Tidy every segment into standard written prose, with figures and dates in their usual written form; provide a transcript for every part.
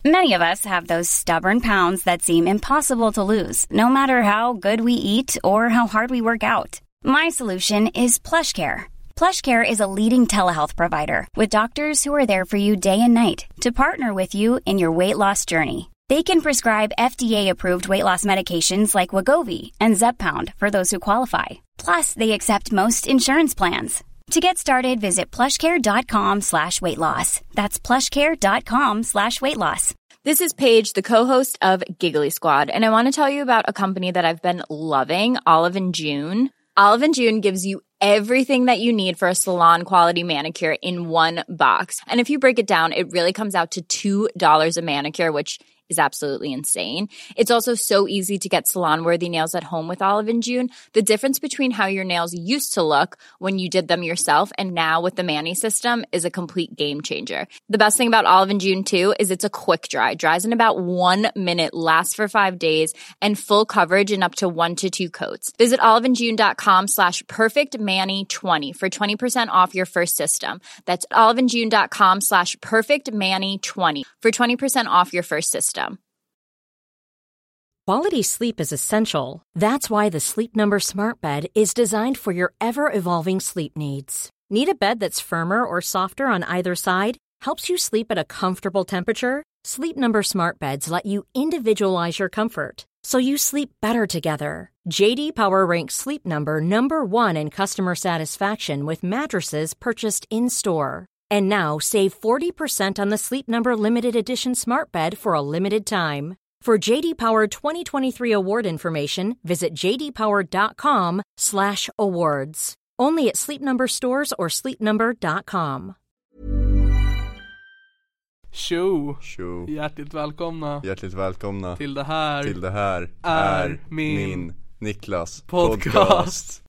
Many of us have those stubborn pounds that seem impossible to lose, no matter how good we eat or how hard we work out. My solution is PlushCare. PlushCare is a leading telehealth provider with doctors who are there for you day and night to partner with you in your weight loss journey. They can prescribe FDA-approved weight loss medications like Wegovy and Zepbound for those who qualify. Plus, they accept most insurance plans. To get started, visit plushcare.com/weight loss. That's plushcare.com/weight loss. This is Paige, the co-host of Giggly Squad, and I want to tell you about a company that I've been loving, Olive & June. Olive & June gives you everything that you need for a salon-quality manicure in one box. And if you break it down, it really comes out to $2 a manicure, which is absolutely insane. It's also so easy to get salon-worthy nails at home with Olive & June. The difference between how your nails used to look when you did them yourself and now with the Mani system is a complete game changer. The best thing about Olive & June, too, is it's a quick dry. Dries in about 1 minute, lasts for 5 days, and full coverage in up to 1 to 2 coats. Visit oliveandjune.com/perfectmani20 for 20% off your first system. That's oliveandjune.com/perfectmani20 for 20% off your first system. Quality sleep is essential. That's why the Sleep Number Smart Bed is designed for your ever-evolving sleep needs. Need a bed that's firmer or softer on either side? Helps you sleep at a comfortable temperature? Sleep Number Smart Beds let you individualize your comfort, so you sleep better together. JD Power ranks Sleep Number #1 in customer satisfaction with mattresses purchased in-store. And now, save 40% on the Sleep Number Limited Edition Smart Bed for a limited time. For JD Power 2023 award information, visit jdpower.com/awards. Only at Sleep Number stores or sleepnumber.com. Tjo! Tjo. Hjärtligt välkomna. Hjärtligt välkomna till det här är min Niklas podcast.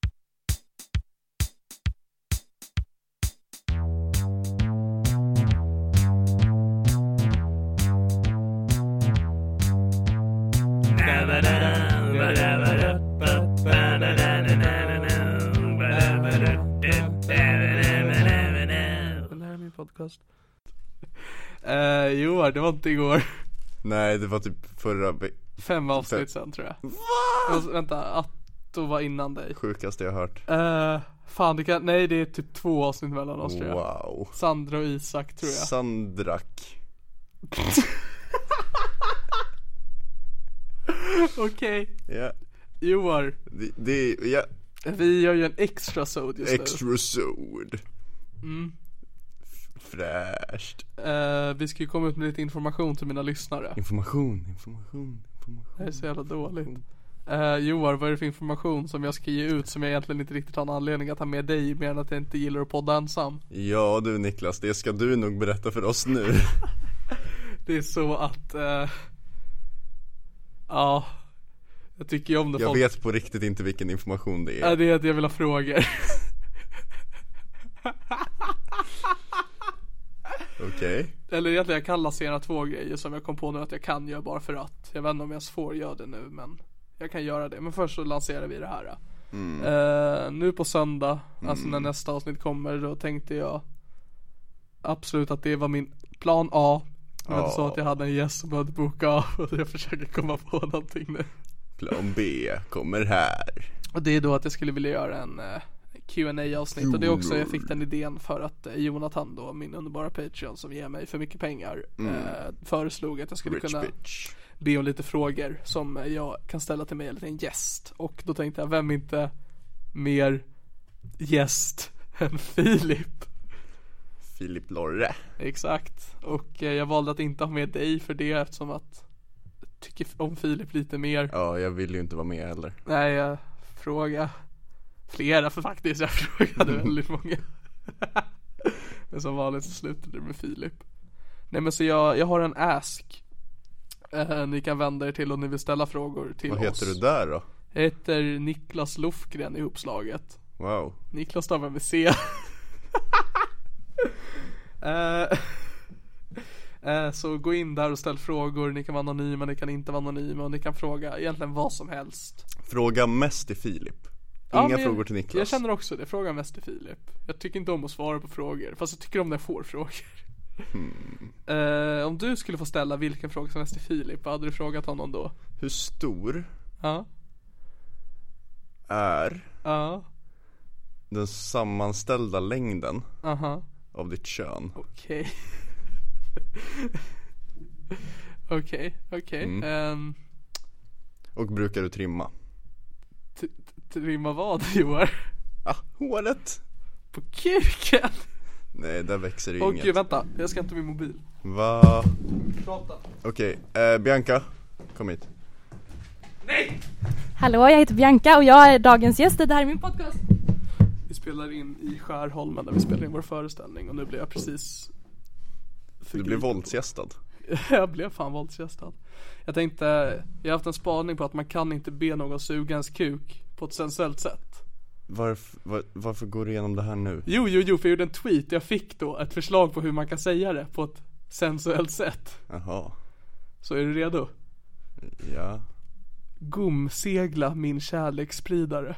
Podcast. Jo, det var inte igår. Nej, det var typ förra 5 avsnitt sen, tror jag. Va? Vänta, Atto var innan dig. Sjukaste jag hört. Fan, nej, det är typ 2 avsnitt mellan oss, tror jag. Wow. Sandra och Isak, tror jag. Sandrak. Okej. Ja. Joar. Ja. Vi gör ju en extra sod just nu. Extra sod. Fräscht. Vi ska ju komma ut med lite information till mina lyssnare. Information. Det är så jävla dåligt. Joar, vad är det för information som jag ska ge ut som jag egentligen inte riktigt har en anledning att ha med dig, mer än att jag inte gillar att podda ensam? Ja du Niklas, det ska du nog berätta för oss nu. Det är så att ja, jag tycker ju om det. Jag vet på riktigt inte vilken information det är. Det är att jag vill ha frågor. Okej. Eller egentligen jag kan lansera 2 grejer som jag kom på nu att jag kan göra bara för att. Jag vet inte om jag får göra det nu, men jag kan göra det. Men först så lanserar vi det här. Nu på söndag, alltså när nästa avsnitt kommer, då tänkte jag absolut att det var min plan A. Det var inte så att jag hade en gäst som behövde boka av, och jag försöker komma på någonting nu. Plan B kommer här. Och det är då att jag skulle vilja göra en Q&A-avsnitt. Och det är också, jag fick den idén för att Jonathan då, min underbara Patreon som ger mig för mycket pengar, föreslog att jag skulle kunna be om lite frågor som jag kan ställa till mig eller till en gäst. Och då tänkte jag, vem inte mer gäst än Filip Lorre. Exakt. Och jag valde att inte ha med dig för det, eftersom att jag tycker om Filip lite mer. Ja, jag vill ju inte vara med heller. Nej, jag frågar flera, för faktiskt jag frågade väldigt många. Men som vanligt så slutade det med Filip. Nej, men så jag har en ask. Ni kan vända er till om ni vill ställa frågor till oss. Vad heter du där då? Jag heter Niklas Lofgren i uppslaget. Wow. Niklas stavar med C. Så gå in där och ställ frågor. Ni kan vara anonyma, ni kan inte vara anonyma, och ni kan fråga egentligen vad som helst. Fråga mest till Filip. Inga frågor till Niklas. Jag känner också det, fråga mest till Filip. Jag tycker inte om att svara på frågor, fast jag tycker om när jag får frågor. Om du skulle få ställa vilken fråga som helst till Filip, vad hade du frågat honom då? Hur stor är den sammanställda längden av ditt kön? Okej. Okej. Och brukar du trimma? Trimma vad, Joar? Håret. På kuken? Nej, där växer det inget. Okej, vänta, jag ska inte min mobil. Va? Prata. Okej, Bianca, kom hit. Nej! Hallå, jag heter Bianca och jag är dagens gäst. Det här är min podcast. Vi spelar in i Skärholmen där vi spelar in vår föreställning. Och nu blev jag precis... Du blev våldsgästad. Jag blev fan våldsgästad. Jag tänkte, jag har haft en spaning på att man kan inte be någon suga ens kuk på ett sensuellt sätt. Varför går du igenom det här nu? Jo, för jag gjorde en tweet. Jag fick då ett förslag på hur man kan säga det på ett sensuellt sätt. Jaha. Så är du redo? Ja. Gomsegla min kärleksspridare.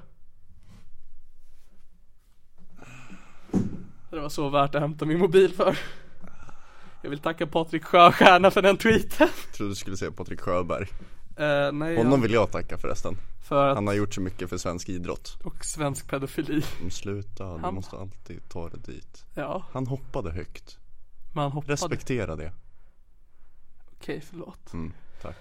Det var så värt att hämta min mobil för. Jag vill tacka Patrik Sjöstjärna för den tweeten. Jag trodde du skulle säga Patrik Sjöberg. Nej, honom vill jag tacka förresten. För att... Han har gjort så mycket för svensk idrott. Och svensk pedofili. Sluta, du måste alltid ta det dit. Ja. Han hoppade högt. Man hoppade. Respektera det. Okej, förlåt. Tack.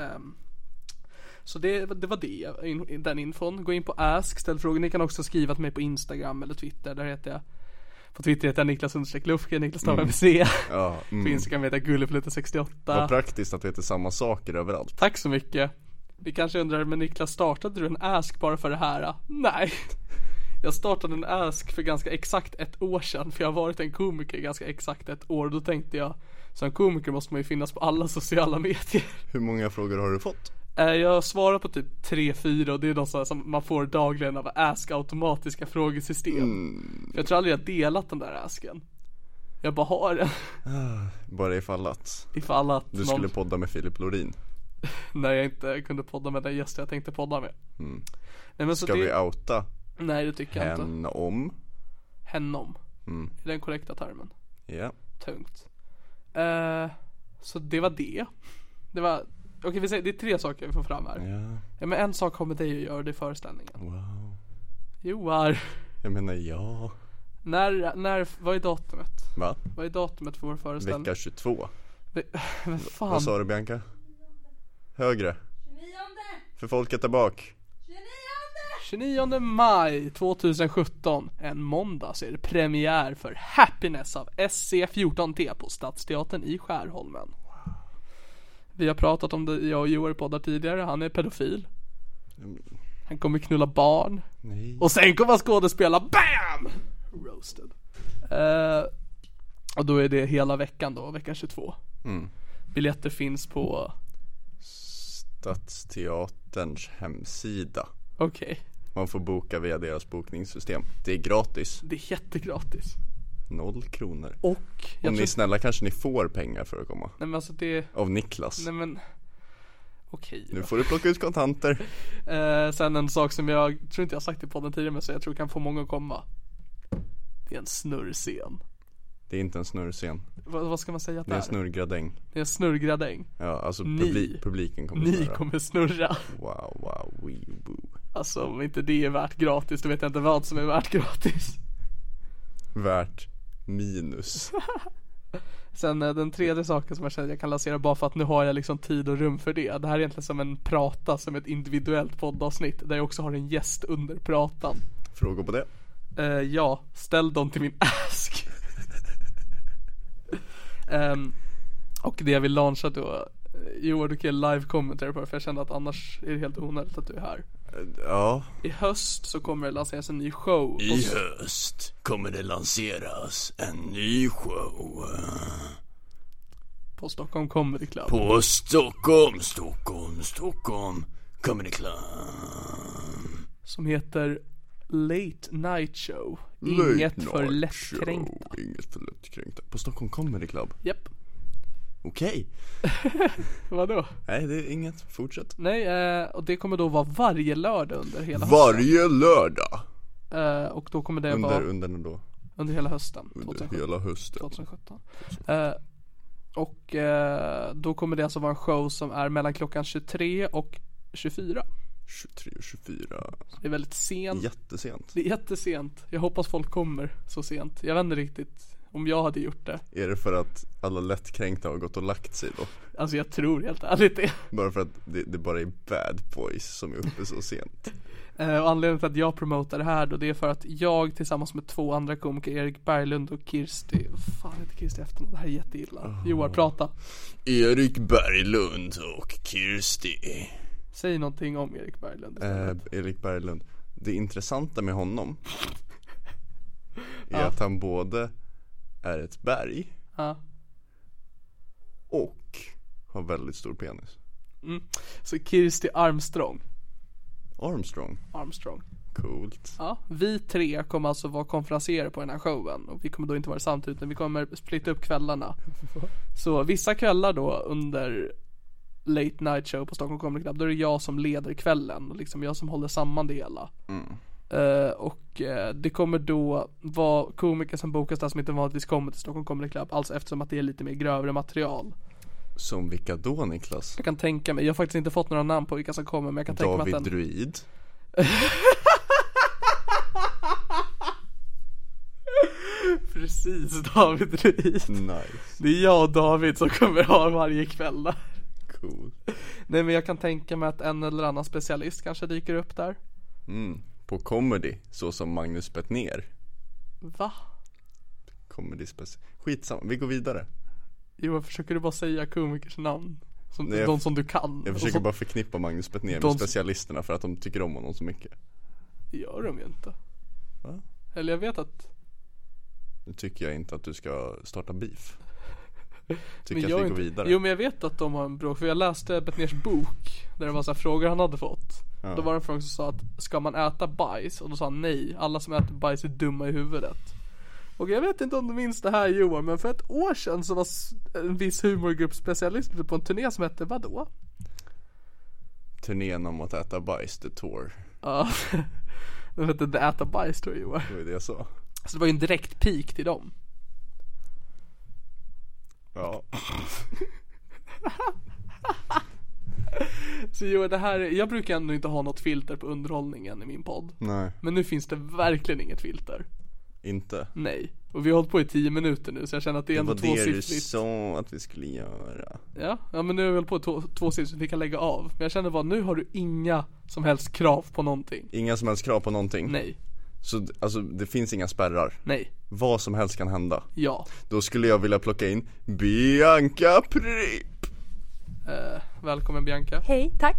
Så det var det, den infon. Gå in på Ask, ställ frågor. Ni kan också skriva till mig på Instagram eller Twitter. Där heter jag, på Twitter heter jag Niklas_Lufke, Niklas Stav MC. På Instagram heter jag Gulleflute68. Vad praktiskt att det heter samma saker överallt. Tack så mycket. Vi kanske undrar, men Niklas, startade du en Ask bara för det här? Nej. Jag startade en Ask för ganska exakt 1 år sedan. För jag har varit en komiker i ganska exakt 1 år. Och då tänkte jag, som komiker måste man ju finnas på alla sociala medier. Hur många frågor har du fått? Jag svarar på typ 3-4. Och det är de som man får dagligen av Ask automatiska frågesystem. För jag tror aldrig jag delat den där Asken. Jag bara har den. Bara ifall att du skulle podda med Filip Lorin. Nej, jag inte kunde podda med den gästen jag tänkte podda med. Nej, men så ska vi outa? Nej, det tycker jag inte. Hennom. Är den korrekta termen? Ja. Tungt. Så det var det. Det var... Okej, vi säger, det är 3 saker vi får fram här. Ja, men en sak kommer dig att göra det i föreställningen. Wow. Joar. Jag menar ja. När vad är datumet? Va? Vad är datumet för vår föreställning? Vecka 22. Men fan. Vad sa du, Bianca? Högre. 29. För folket där bak. 29 maj 2017. En måndag så är det premiär för Happiness av SC14T på Stadsteatern i Skärholmen. Vi har pratat om det, jag och Joar poddar tidigare. Han är pedofil. Han kommer knulla barn. Nej. Och sen kommer han skådespela. BAM! Roasted. Och då är det hela veckan då, vecka 22. Biljetter finns på Stadsteaterns hemsida. Okej. Man får boka via deras bokningssystem. Det är gratis. Det är jättegratis. 0 kronor. Och om ni är snälla kanske ni får pengar för att komma. Nej, men alltså det... Av Niklas. Nej, men okej. Nu får du plocka ut kontanter. Sen en sak som jag tror inte jag har sagt i podden tidigare, men så jag tror kan få många att komma. Det är en snurrscen. Det är inte en snurrscen. Vad ska man säga att det är? Det är en snurrgradäng. Det är en snurrgradäng. Ja, alltså publiken kommer snurra. Ni kommer snurra. Wow, woo. Alltså om inte det är värt gratis, då vet jag inte vad som är värt gratis. Värt minus. Sen den tredje saken som jag känner jag kan lansera bara för att nu har jag liksom tid och rum för det. Det här är egentligen som en prata, som ett individuellt poddavsnitt där jag också har en gäst under pratan. Frågor på det? Ja, ställ dem till min Ask. Och det jag vill launcha då, Joar, du kan live commentary på det, för jag kände att annars är det helt onödigt att du är här. Ja. I höst så kommer det lanseras en ny show. I höst kommer det lanseras en ny show på Stockholm Comedy Club. På Stockholm Comedy Club. Som heter Late Night Show. Inget för lättkränkta. På Stockholm Comedy Club. Japp. Okej. Vadå? Nej, det är inget. Fortsätt. Nej, och det kommer då vara varje lördag under hela Varje lördag? och då kommer det under då? Under hela hösten. Under hela hösten 2017. Och då kommer det alltså vara en show som är mellan klockan 23 och 24. 23 och 24. Det är väldigt sent. Jättesent. Det är jättesent. Jag hoppas folk kommer så sent. Jag vet inte riktigt om jag hade gjort det. Är det för att alla lättkränkta har gått och lagt sig då? Alltså jag tror helt ärligt det. Bara för att det bara är bad boys som är uppe så sent. Och anledningen till att jag promotar det här då, det är för att jag tillsammans med 2 andra komiker, Erik Berglund och Kirsti. Fan heter Kirsti efternamn? Det här är jätteilla. Johan, prata. Erik Berglund och Kirsti. Säg någonting om Erik Berglund. Erik Berglund. Det intressanta med honom är att han både är ett berg och har väldigt stor penis. Så Kirsti Armstrong. Armstrong. Coolt. Ja, vi 3 kommer alltså vara konferenser på den här showen. Och vi kommer då inte vara samtidigt, utan vi kommer splitta upp kvällarna. Så vissa kvällar då under Late Night Show på Stockholm Comedy Club, då är det jag som leder kvällen och liksom jag som håller samman det hela. Det kommer då vara komiker som bokas där som inte vanligtvis kommer till Stockholm Comedy Club, alltså eftersom att det är lite mer grövre material. Som vilka då, Niklas? Jag kan tänka mig, jag har faktiskt inte fått några namn på vilka som kommer, men jag kan tänka mig att David Druid. Precis, David Druid. Nice. Det är jag och David som kommer ha varje kväll där. Cool. Nej, men jag kan tänka mig att en eller annan specialist kanske dyker upp där. På comedy, så som Magnus Bettner. Va? Comedy skitsamma, vi går vidare. Jo, försöker du bara säga komikers namn? De som du kan. Jag försöker bara förknippa Magnus Bettner med specialisterna för att de tycker om honom så mycket. Det gör de ju inte. Va? Eller jag vet att... Nu tycker jag inte att du ska starta beef. Tycker jag att vi går vidare. Jo, men jag vet att de har en bråk. För jag läste Bettners bok där det var så här frågor han hade fått. Då var det en fråga som sa att ska man äta bajs? Och då sa han nej, alla som äter bajs är dumma i huvudet. Och jag vet inte om du minns det här, Johan, men för ett år sedan så var en viss humorgrupp specialist på en turné som hette vadå? Turnén om att äta bajs, The Tour. Ja, den hette The Äta Bajs, tror jag, Johan. Det var det jag sa. Så det var ju en direkt peak till dem. Ja. Så Johan, det här, jag brukar ändå inte ha något filter på underhållningen i min podd. Nej. Men nu finns det verkligen inget filter. Inte? Nej. Och vi har hållit på i 10 minuter nu, så jag känner att det är ändå tvåsiffrigt. Det var det du sa att vi skulle göra. Ja, men nu har vi hållit på tvåsiffrigt så vi kan lägga av. Men jag känner bara, nu har du inga som helst krav på någonting. Inga som helst krav på någonting? Nej. Så alltså, det finns inga spärrar? Nej. Vad som helst kan hända? Ja. Då skulle jag vilja plocka in Bianca Pripp. Välkommen Bianca. Hej, tack.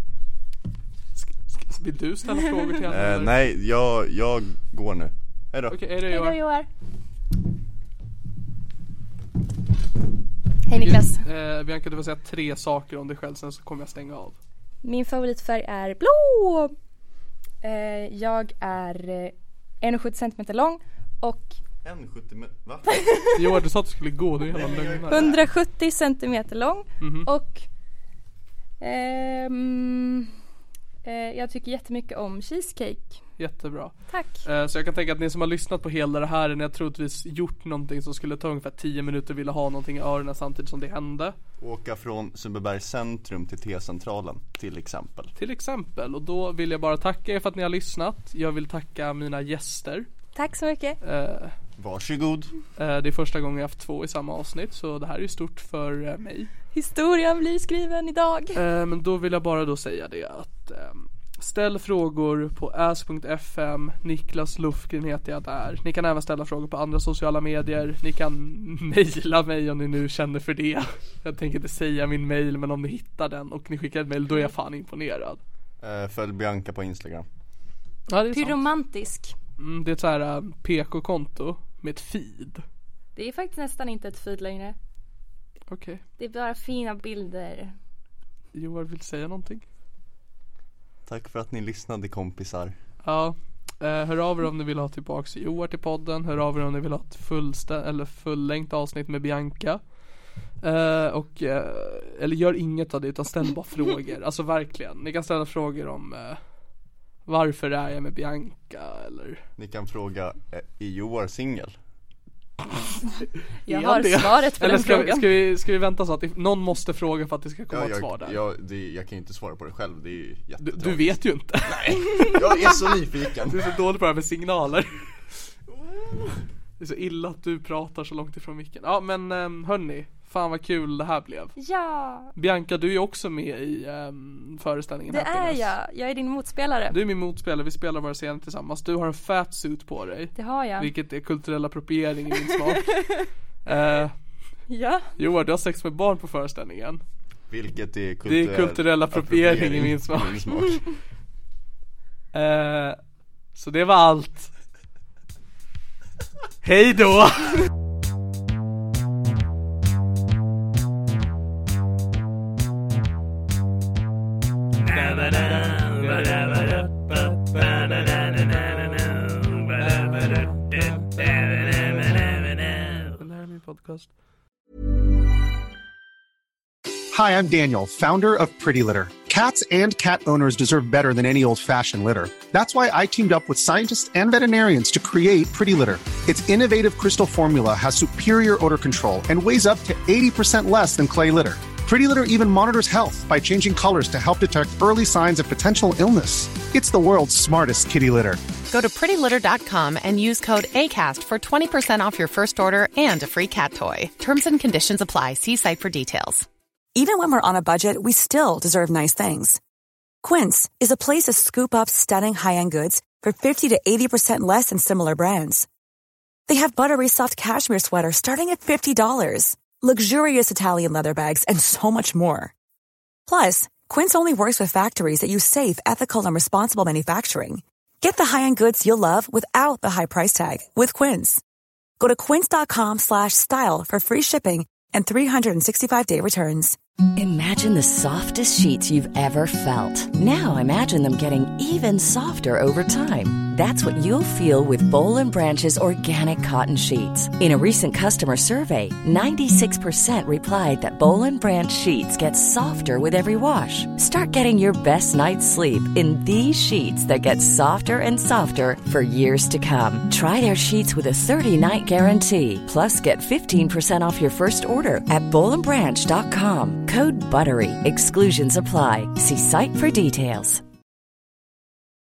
Vill du ställa frågor till henne? Nej, jag går nu. Hej då. Okej, hej då Joar. Hej Niklas. Bianca, du får säga 3 saker om dig själv, sen så kommer jag stänga av. Min favoritfärg är blå. Jag är 1,70 cm lång och 1,70 va? Jo, du sa att du skulle gå, du är hela lögnare. 170 cm lång och jag tycker jättemycket om cheesecake. Jättebra. Tack. Så jag kan tänka att ni som har lyssnat på hela det här, när jag troligtvis gjort någonting som skulle ta ungefär 10 minuter, ville ha någonting i öronen samtidigt som det hände. Åka från Sundbybergs centrum till T-centralen till exempel. Till exempel, och då vill jag bara tacka er för att ni har lyssnat. Jag vill tacka mina gäster. Tack så mycket. Varsågod. Det är första gången jag haft 2 i samma avsnitt, så det här är ju stort för mig. Historien blir skriven idag. Men då vill jag bara då säga det att ställ frågor på ask.fm. Niklas Lufgren heter jag där. Ni kan även ställa frågor på andra sociala medier. Ni kan mejla mig om ni nu känner för det. Jag tänker inte säga min mejl, men om ni hittar den och ni skickar ett mejl, då är jag fan imponerad. Följ Bianca på Instagram. Ja, det är Pyromantisk. Det är ett så här PK-konto med ett feed. Det är faktiskt nästan inte ett feed längre. Okej. Det är bara fina bilder. Joar vill säga någonting? Tack för att ni lyssnade, kompisar. Ja, hör av er om ni vill ha tillbaks Joar till podden. Hör av er om ni vill ha ett fullängt avsnitt med Bianca. Eller gör inget av det, utan ställ bara frågor. Alltså verkligen, ni kan ställa frågor om Varför är jag med Bianca? Eller? Ni kan fråga, är Joar singel? Jag har svaret på eller den frågan. Ska vi vänta så att någon måste fråga för att det ska komma ett svar där? Jag kan ju inte svara på det själv, det är ju jättetråkigt. Du vet ju inte. Nej, jag är så nyfiken. Du är så dålig på det här med signaler. Det är så illa att du pratar så långt ifrån micken. Ja men hörni, fan vad kul det här blev. Ja. Bianca, du är ju också med i föreställningen. Det är jag är din motspelare. Du är min motspelare, vi spelar våra scener tillsammans. Du har en fat suit på dig. Det har jag. Vilket är kulturell appropriering i min smak. Ja. Joar, du har sex med barn på föreställningen. Vilket är det är kulturell appropriering i min smak. Så det var allt. Hej då! Hi, I'm Daniel, founder of Pretty Litter. Cats and cat owners deserve better than any old-fashioned litter. That's why I teamed up with scientists and veterinarians to create Pretty Litter. Its innovative crystal formula has superior odor control and weighs up to 80% less than clay litter. Pretty Litter even monitors health by changing colors to help detect early signs of potential illness. It's the world's smartest kitty litter. Go to prettylitter.com and use code ACAST for 20% off your first order and a free cat toy. Terms and conditions apply. See site for details. Even when we're on a budget, we still deserve nice things. Quince is a place to scoop up stunning high-end goods for 50 to 80% less than similar brands. They have buttery soft cashmere sweaters starting at $50, luxurious Italian leather bags, and so much more. Plus, Quince only works with factories that use safe, ethical, and responsible manufacturing. Get the high-end goods you'll love without the high price tag with Quince. Go to quince.com/style for free shipping and 365-day returns. Imagine the softest sheets you've ever felt. Now imagine them getting even softer over time. That's what you'll feel with Boll & Branch's organic cotton sheets. In a recent customer survey, 96% replied that Boll & Branch sheets get softer with every wash. Start getting your best night's sleep in these sheets that get softer and softer for years to come. Try their sheets with a 30-night guarantee. Plus, get 15% off your first order at bollandbranch.com. Code BUTTERY. Exclusions apply. See site for details.